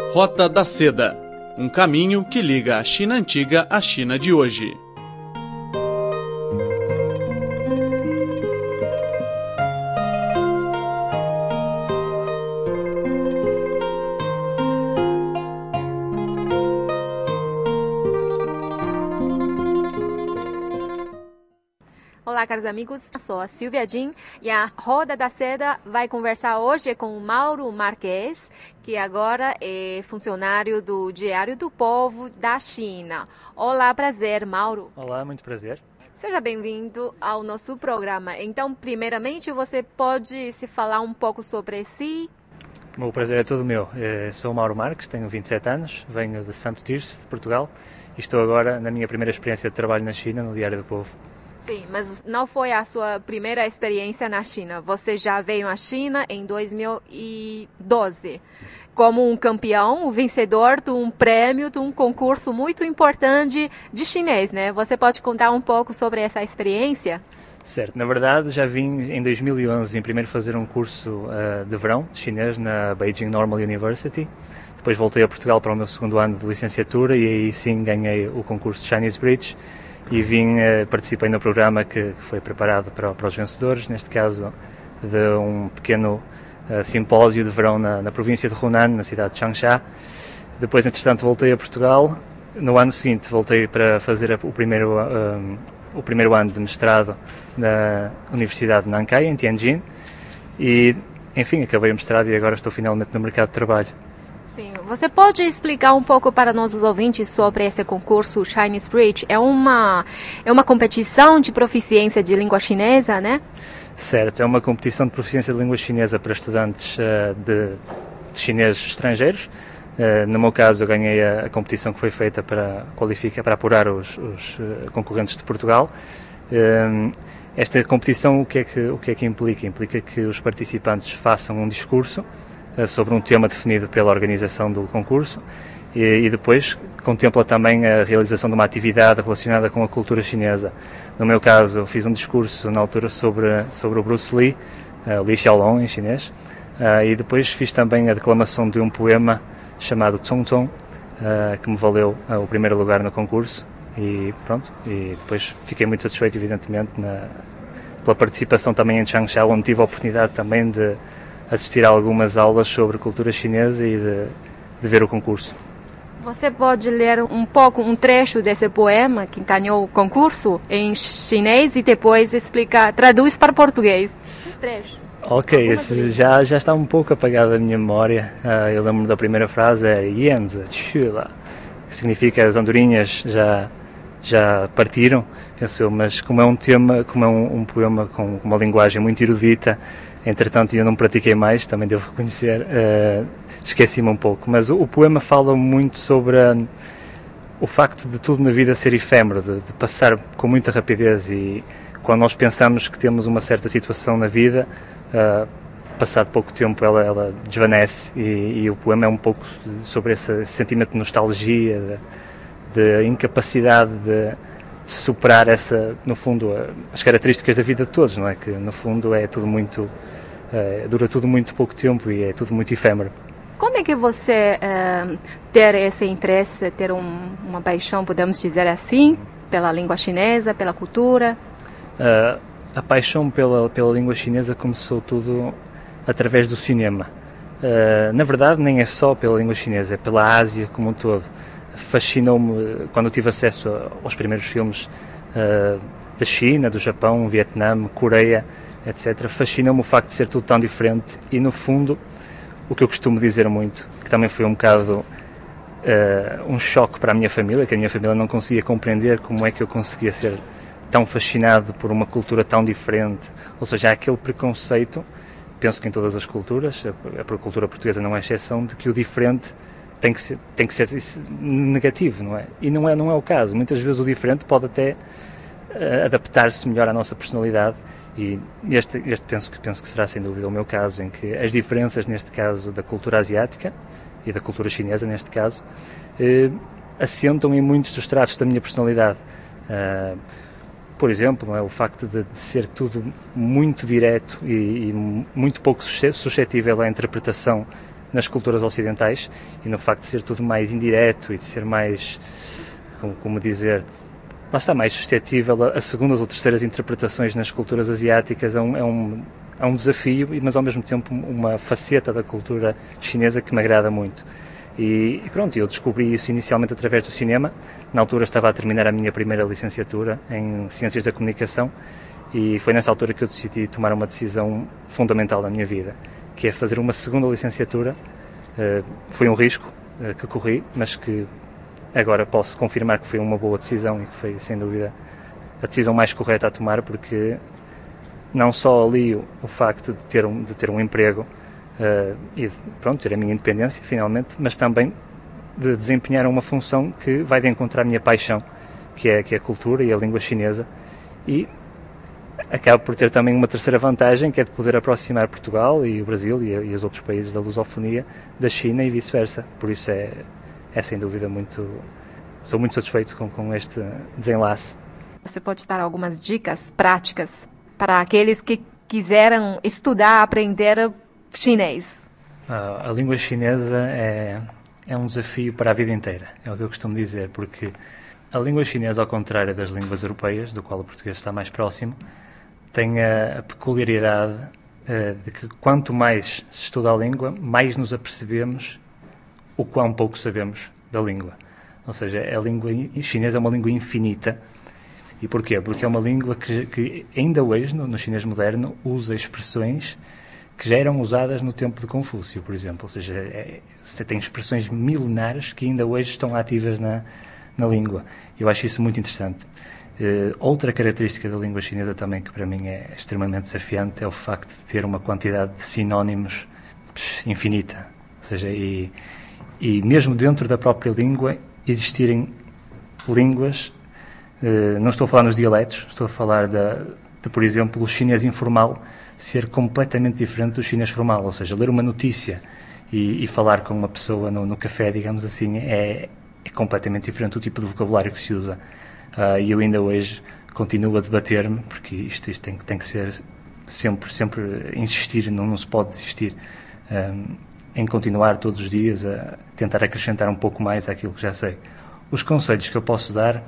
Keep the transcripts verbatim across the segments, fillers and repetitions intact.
Rota da Seda, um caminho que liga a China antiga à China de hoje. Olá, caros amigos, eu sou a Silvia Jin e a Roda da Seda vai conversar hoje com o Mauro Marques, que agora é funcionário do Diário do Povo da China. Olá, prazer, Mauro. Olá, muito prazer. Seja bem-vindo ao nosso programa. Então, primeiramente, você pode se falar um pouco sobre si? O prazer é todo meu. Eu sou o Mauro Marques, tenho vinte e sete anos, venho de Santo Tirso, de Portugal, e estou agora na minha primeira experiência de trabalho na China, no Diário do Povo. Sim, mas não foi a sua primeira experiência na China. Você já veio à China em dois mil e doze como um campeão, o vencedor de um prêmio, de um concurso muito importante de chinês, né? Você pode contar um pouco sobre essa experiência? Certo, na verdade já vim em dois mil e onze, vim primeiro fazer um curso uh, de verão de chinês na Beijing Normal University. Depois voltei a Portugal para o meu segundo ano de licenciatura e aí sim ganhei o concurso Chinese Bridge. E vim, participei no programa que, que foi preparado para, para os vencedores, neste caso de um pequeno uh, simpósio de verão na, na província de Hunan, na cidade de Changsha. Depois, entretanto, voltei a Portugal. No ano seguinte, voltei para fazer a, o, primeiro, um, o primeiro ano de mestrado na Universidade de Nankai, em Tianjin. E, enfim, acabei o mestrado e agora estou finalmente no mercado de trabalho. Sim. Você pode explicar um pouco para nossos ouvintes sobre esse concurso Chinese Bridge? É uma, é uma competição de proficiência de língua chinesa, né? Certo, é uma competição de proficiência de língua chinesa para estudantes uh, de, de chineses estrangeiros. Uh, no meu caso, eu ganhei a, a competição que foi feita para qualificar, para apurar os, os uh, concorrentes de Portugal. Uh, esta competição, o que, é que, o que é que implica? Implica que os participantes façam um discurso sobre um tema definido pela organização do concurso e, e depois contempla também a realização de uma atividade relacionada com a cultura chinesa. No meu caso, fiz um discurso na altura sobre, sobre o Bruce Lee, uh, Li Xiaolong em chinês, uh, e depois fiz também a declamação de um poema chamado Cong Cong, uh, que me valeu uh, o primeiro lugar no concurso e pronto, e depois fiquei muito satisfeito, evidentemente, na, pela participação também em Changsha, onde tive a oportunidade também de assistir a algumas aulas sobre cultura chinesa e de, de ver o concurso. Você pode ler um pouco, um trecho desse poema que ganhou o concurso em chinês e depois explicar, traduz para português. Um trecho. Ok, esse já, já está um pouco apagado da minha memória. Uh, eu lembro da primeira frase, é Yanzi Chula, que significa as andorinhas já, já partiram, penso eu, mas como é um tema, como é um, um poema com uma linguagem muito erudita, entretanto eu não pratiquei mais, também devo reconhecer, uh, esqueci-me um pouco, mas o, o poema fala muito sobre uh, o facto de tudo na vida ser efêmero, de, de passar com muita rapidez, e quando nós pensamos que temos uma certa situação na vida, uh, passado pouco tempo ela, ela desvanece, e, e o poema é um pouco sobre esse, esse sentimento de nostalgia, de, de incapacidade de de superar essa, no fundo, as características da vida de todos, não é? Que no fundo é tudo muito, uh, dura tudo muito pouco tempo e é tudo muito efêmero. Como é que você uh, ter esse interesse, ter um, uma paixão, podemos dizer assim, pela língua chinesa, pela cultura? Uh, a paixão pela, pela língua chinesa começou tudo através do cinema. Uh, na verdade, nem é só pela língua chinesa, é pela Ásia como um todo. Fascinou-me quando eu tive acesso aos primeiros filmes uh, da China, do Japão, Vietnã, Coreia, etcétera. Fascinou-me o facto de ser tudo tão diferente e, no fundo, o que eu costumo dizer muito, que também foi um bocado uh, um choque para a minha família, que a minha família não conseguia compreender como é que eu conseguia ser tão fascinado por uma cultura tão diferente. Ou seja, há aquele preconceito, penso que em todas as culturas, a, a cultura portuguesa não é exceção, de que o diferente tem que ser, tem que ser negativo, não é? E não é, não é o caso. Muitas vezes o diferente pode até uh, adaptar-se melhor à nossa personalidade, e este, este penso, que, penso que será sem dúvida o meu caso, em que as diferenças, neste caso, da cultura asiática e da cultura chinesa, neste caso, uh, assentam em muitos dos traços da minha personalidade. Uh, por exemplo, não é? O facto de, de ser tudo muito direto e, e muito pouco suscetível à interpretação nas culturas ocidentais e no facto de ser tudo mais indireto e de ser mais, como, como dizer, lá está, mais suscetível a, a segundas ou terceiras interpretações nas culturas asiáticas. É um, é um, é um desafio, mas ao mesmo tempo uma faceta da cultura chinesa que me agrada muito. E, e pronto, eu descobri isso inicialmente através do cinema. Na altura estava a terminar a minha primeira licenciatura em Ciências da Comunicação e foi nessa altura que eu decidi tomar uma decisão fundamental na minha vida, que é fazer uma segunda licenciatura. Uh, foi um risco uh, que corri, mas que agora posso confirmar que foi uma boa decisão e que foi, sem dúvida, a decisão mais correta a tomar, porque não só ali o, o facto de ter um, de ter um emprego Uh, e de, pronto, ter a minha independência finalmente, mas também de desempenhar uma função que vai de encontrar a minha paixão, que é, que é a cultura e a língua chinesa, e acaba por ter também uma terceira vantagem, que é de poder aproximar Portugal e o Brasil e, e os outros países da lusofonia da China e vice-versa. Por isso é, é sem dúvida muito, sou muito satisfeito com, com este desenlace. Você pode dar algumas dicas práticas para aqueles que quiseram estudar, aprender chinês? A, a língua chinesa é, é um desafio para a vida inteira, é o que eu costumo dizer, porque a língua chinesa, ao contrário das línguas europeias, do qual o português está mais próximo, tem a, a peculiaridade uh, de que quanto mais se estuda a língua, mais nos apercebemos o quão pouco sabemos da língua. Ou seja, a língua chinesa é uma língua infinita. E porquê? Porque é uma língua que, que ainda hoje, no, no chinês moderno, usa expressões que já eram usadas no tempo de Confúcio, por exemplo. Ou seja, é, você tem expressões milenares que ainda hoje estão ativas na, na língua. Eu acho isso muito interessante. Uh, outra característica da língua chinesa também que para mim é extremamente desafiante é o facto de ter uma quantidade de sinónimos psh, infinita. Ou seja, e, e mesmo dentro da própria língua existirem línguas, uh, não estou a falar nos dialetos, estou a falar da, de, por exemplo, o chinês informal ser completamente diferente do chinês formal, ou seja, ler uma notícia e, e falar com uma pessoa no, no café, digamos assim, é, é completamente diferente do tipo de vocabulário que se usa. Uh, e eu ainda hoje continuo a debater-me, porque isto, isto tem, tem que ser sempre, sempre insistir, não, não se pode desistir, um, em continuar todos os dias a tentar acrescentar um pouco mais àquilo que já sei. Os conselhos que eu posso dar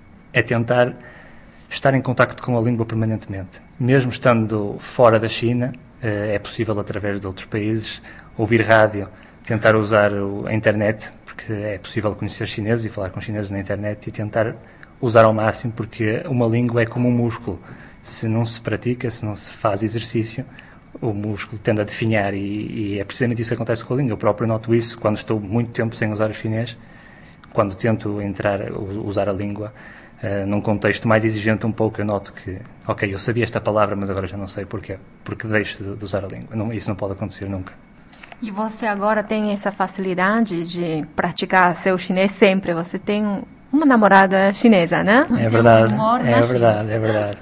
é tentar estar em contacto com a língua permanentemente. Mesmo estando fora da China, é possível, através de outros países, ouvir rádio, tentar usar a internet, porque é possível conhecer chineses e falar com chineses na internet, e tentar usar ao máximo, porque uma língua é como um músculo. Se não se pratica, se não se faz exercício, o músculo tende a definhar, e, e é precisamente isso que acontece com a língua. Eu próprio noto isso quando estou muito tempo sem usar o chinês, quando tento entrar, usar a língua, Uh, num contexto mais exigente um pouco, eu noto que, ok, eu sabia esta palavra, mas agora já não sei porquê, porque deixo de, de usar a língua. Não, isso não pode acontecer nunca. E você agora tem essa facilidade de praticar seu chinês sempre? Você tem uma namorada chinesa, né? É verdade, é verdade, é verdade.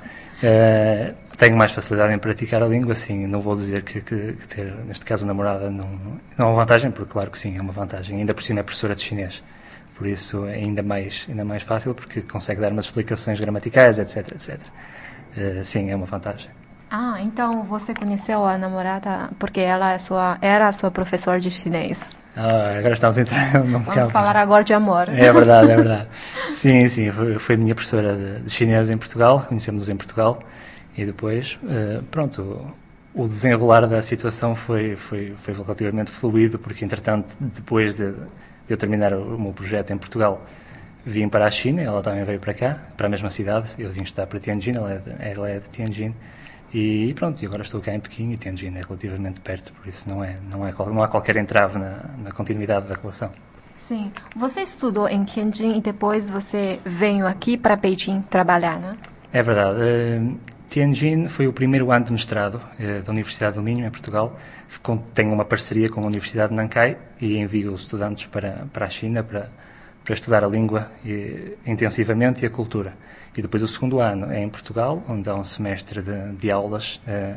Uh, tenho mais facilidade em praticar a língua, sim. Não vou dizer que, que, que ter, neste caso, namorada não, não é uma vantagem, porque claro que sim, é uma vantagem. Ainda por cima é professora de chinês. Por isso é ainda mais, ainda mais fácil, porque consegue dar umas explicações gramaticais, etc, etcétera. Uh, sim, é uma vantagem. Ah, então você conheceu a namorada porque ela é sua, era a sua professora de chinês. Ah, agora estamos entrando num Vamos campo. falar agora de amor. É verdade, é verdade. Sim, sim, foi, foi minha professora de, de chinês em Portugal, conhecemos-nos em Portugal, e depois, uh, pronto, o desenrolar da situação foi, foi, foi relativamente fluido, porque entretanto, depois de eu terminar o meu projeto em Portugal, vim para a China, ela também veio para cá, para a mesma cidade. Eu vim estudar para Tianjin, ela é de, ela é de Tianjin, e pronto, e agora estou cá em Pequim, e Tianjin é relativamente perto, por isso não, é, não, é, não há qualquer entrave na, na continuidade da relação. Sim. Você estudou em Tianjin e depois você veio aqui para Beijing trabalhar, né? É verdade. Uh, Tianjin foi o primeiro ano de mestrado uh, da Universidade do Minho, em Portugal, que tem uma parceria com a Universidade de Nankai e envia os estudantes para, para a China para, para estudar a língua e, intensivamente, e a cultura. E depois o segundo ano é em Portugal, onde há um semestre de, de aulas uh,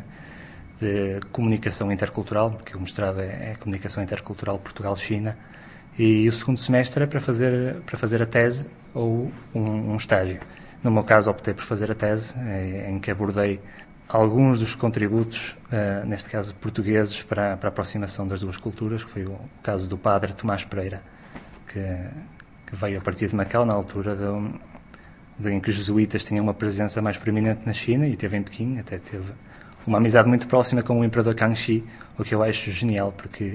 de comunicação intercultural, porque o mestrado é, é Comunicação Intercultural Portugal-China, e o segundo semestre é para fazer, para fazer a tese ou um, um estágio. No meu caso, optei por fazer a tese, em que abordei alguns dos contributos, uh, neste caso portugueses, para, para a aproximação das duas culturas, que foi o, o caso do padre Tomás Pereira, que, que veio a partir de Macau, na altura de, de, em que os jesuítas tinham uma presença mais proeminente na China, e teve em Pequim, até teve uma amizade muito próxima com o imperador Kangxi, o que eu acho genial, porque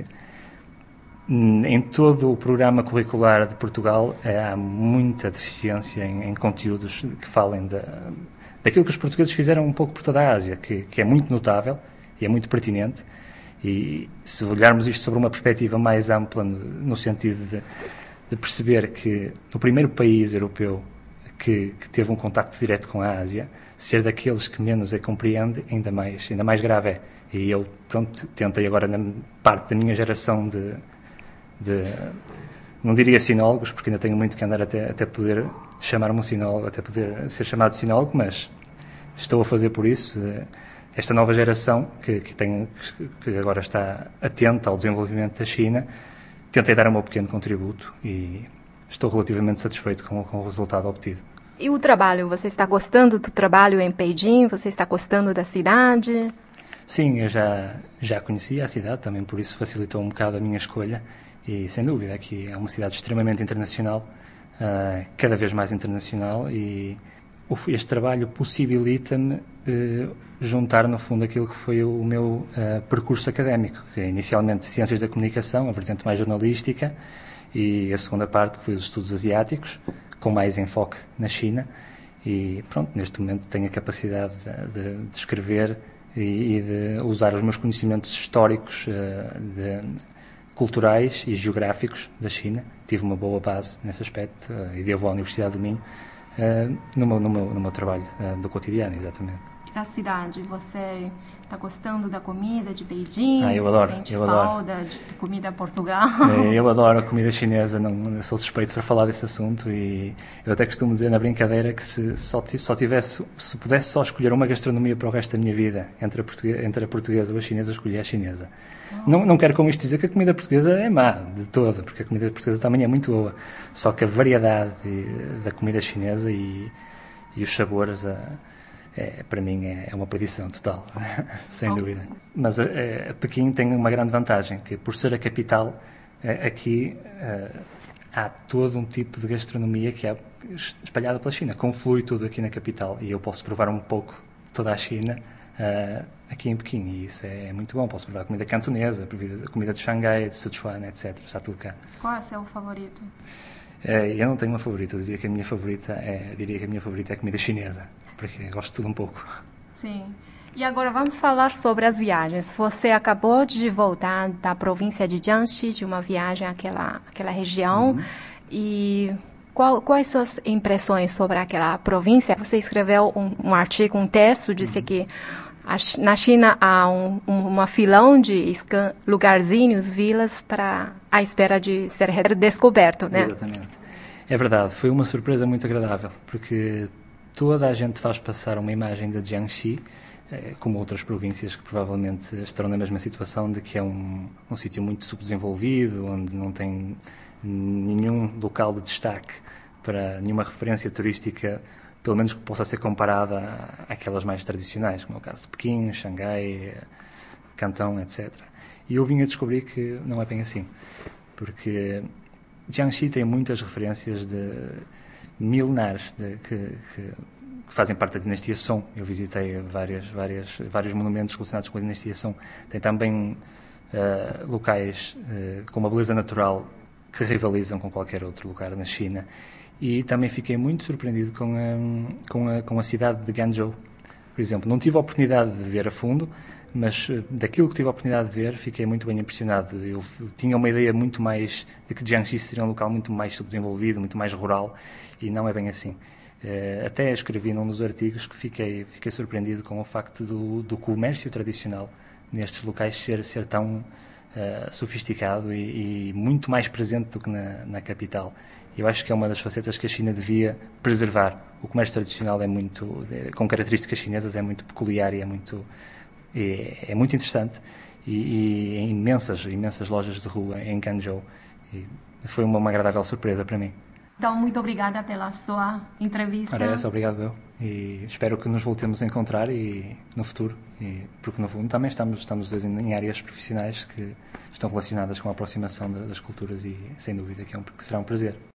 em todo o programa curricular de Portugal há muita deficiência em, em conteúdos que falem de, daquilo que os portugueses fizeram um pouco por toda a Ásia, que, que é muito notável e é muito pertinente. E se olharmos isto sobre uma perspectiva mais ampla, no, no sentido de, de perceber que no primeiro país europeu que, que teve um contacto direto com a Ásia, ser daqueles que menos a compreende, ainda mais, ainda mais grave é. E eu, pronto, tentei agora, na parte da minha geração de De, não diria sinólogos, porque ainda tenho muito que andar até, até poder chamar-me um sinólogo, até poder ser chamado sinólogo, mas estou a fazer por isso. Esta nova geração, que, que, tem, que agora está atenta ao desenvolvimento da China, tentei dar o meu pequeno contributo e estou relativamente satisfeito com, com o resultado obtido. E o trabalho? Você está gostando do trabalho em Pequim? Você está gostando da cidade? Sim, eu já, já conhecia a cidade, também por isso facilitou um bocado a minha escolha. E, sem dúvida, aqui é uma cidade extremamente internacional, uh, cada vez mais internacional, e este trabalho possibilita-me uh, juntar, no fundo, aquilo que foi o meu uh, percurso académico, que é inicialmente Ciências da Comunicação, a vertente mais jornalística, e a segunda parte, que foi os estudos asiáticos, com mais enfoque na China. E, pronto, neste momento tenho a capacidade de, de escrever e, e de usar os meus conhecimentos históricos uh, de culturais e geográficos da China. Tive uma boa base nesse aspecto uh, e devo à Universidade do Minho uh, no, meu, no, meu, no meu trabalho uh, do cotidiano, exatamente. E a cidade, você está gostando da comida de Beijing? Ah, eu adoro. Sente eu falta adoro. de comida Portugal? Eu adoro a comida chinesa, não sou suspeito para falar desse assunto, e eu até costumo dizer na brincadeira que se só, só tivesse, se pudesse só escolher uma gastronomia para o resto da minha vida, entre a portuguesa, entre a portuguesa ou a chinesa, eu escolhia a chinesa. Oh. Não, não quero com isto dizer que a comida portuguesa é má, de toda, porque a comida portuguesa também é muito boa, só que a variedade da comida chinesa e, e os sabores... A, É, para mim é uma perdição total, sem dúvida. Mas a, a Pequim tem uma grande vantagem, que por ser a capital, aqui há todo um tipo de gastronomia que é espalhada pela China, conflui tudo aqui na capital, e eu posso provar um pouco de toda a China aqui em Pequim, e isso é muito bom. Posso provar comida cantonesa, comida de Xangai, de Sichuan, etcétera. Está tudo cá. Qual é o seu favorito? Eu não tenho uma favorita, eu diria que a minha favorita é, diria que a minha favorita é a comida chinesa, porque gosto de tudo um pouco. Sim. E agora vamos falar sobre as viagens. Você acabou de voltar da província de Jiangxi, de uma viagem àquela, àquela região, uhum. E qual, quais suas impressões sobre aquela província? Você escreveu um, um artigo, um texto, disse uhum. que na China há um, um, uma filão de lugarzinhos, vilas, para à espera de ser redescoberto, né? Exatamente. É verdade, foi uma surpresa muito agradável, porque toda a gente faz passar uma imagem de Jiangxi, como outras províncias que provavelmente estarão na mesma situação, de que é um, um sítio muito subdesenvolvido, onde não tem nenhum local de destaque para nenhuma referência turística, pelo menos que possa ser comparada àquelas mais tradicionais, como é o caso de Pequim, Xangai, Cantão, etcétera. E eu vim a descobrir que não é bem assim, porque Jiangxi tem muitas referências de milenares de, que, que, que fazem parte da dinastia Song. Eu visitei várias, várias, vários monumentos relacionados com a dinastia Song. Tem também uh, locais uh, com uma beleza natural que rivalizam com qualquer outro lugar na China. E também fiquei muito surpreendido com a, com a, com a cidade de Guangzhou, por exemplo. Não tive a oportunidade de ver a fundo, mas daquilo que tive a oportunidade de ver, fiquei muito bem impressionado. Eu tinha uma ideia muito mais de que Jiangxi seria um local muito mais subdesenvolvido, muito mais rural, e não é bem assim. Até escrevi num dos artigos que fiquei, fiquei surpreendido com o facto do, do comércio tradicional nestes locais ser, ser tão uh, sofisticado e, e muito mais presente do que na, na capital. Eu acho que é uma das facetas que a China devia preservar. O comércio tradicional é muito, é, com características chinesas, é muito peculiar e é muito, é, é muito interessante. E, e imensas, imensas lojas de rua em Guangzhou. E foi uma, uma agradável surpresa para mim. Então, muito obrigada pela sua entrevista. Ora, essa, obrigado eu. E espero que nos voltemos a encontrar e, no futuro, e, porque no fundo também estamos, estamos dois em, em áreas profissionais que estão relacionadas com a aproximação das culturas e, sem dúvida, que, é um, que será um prazer.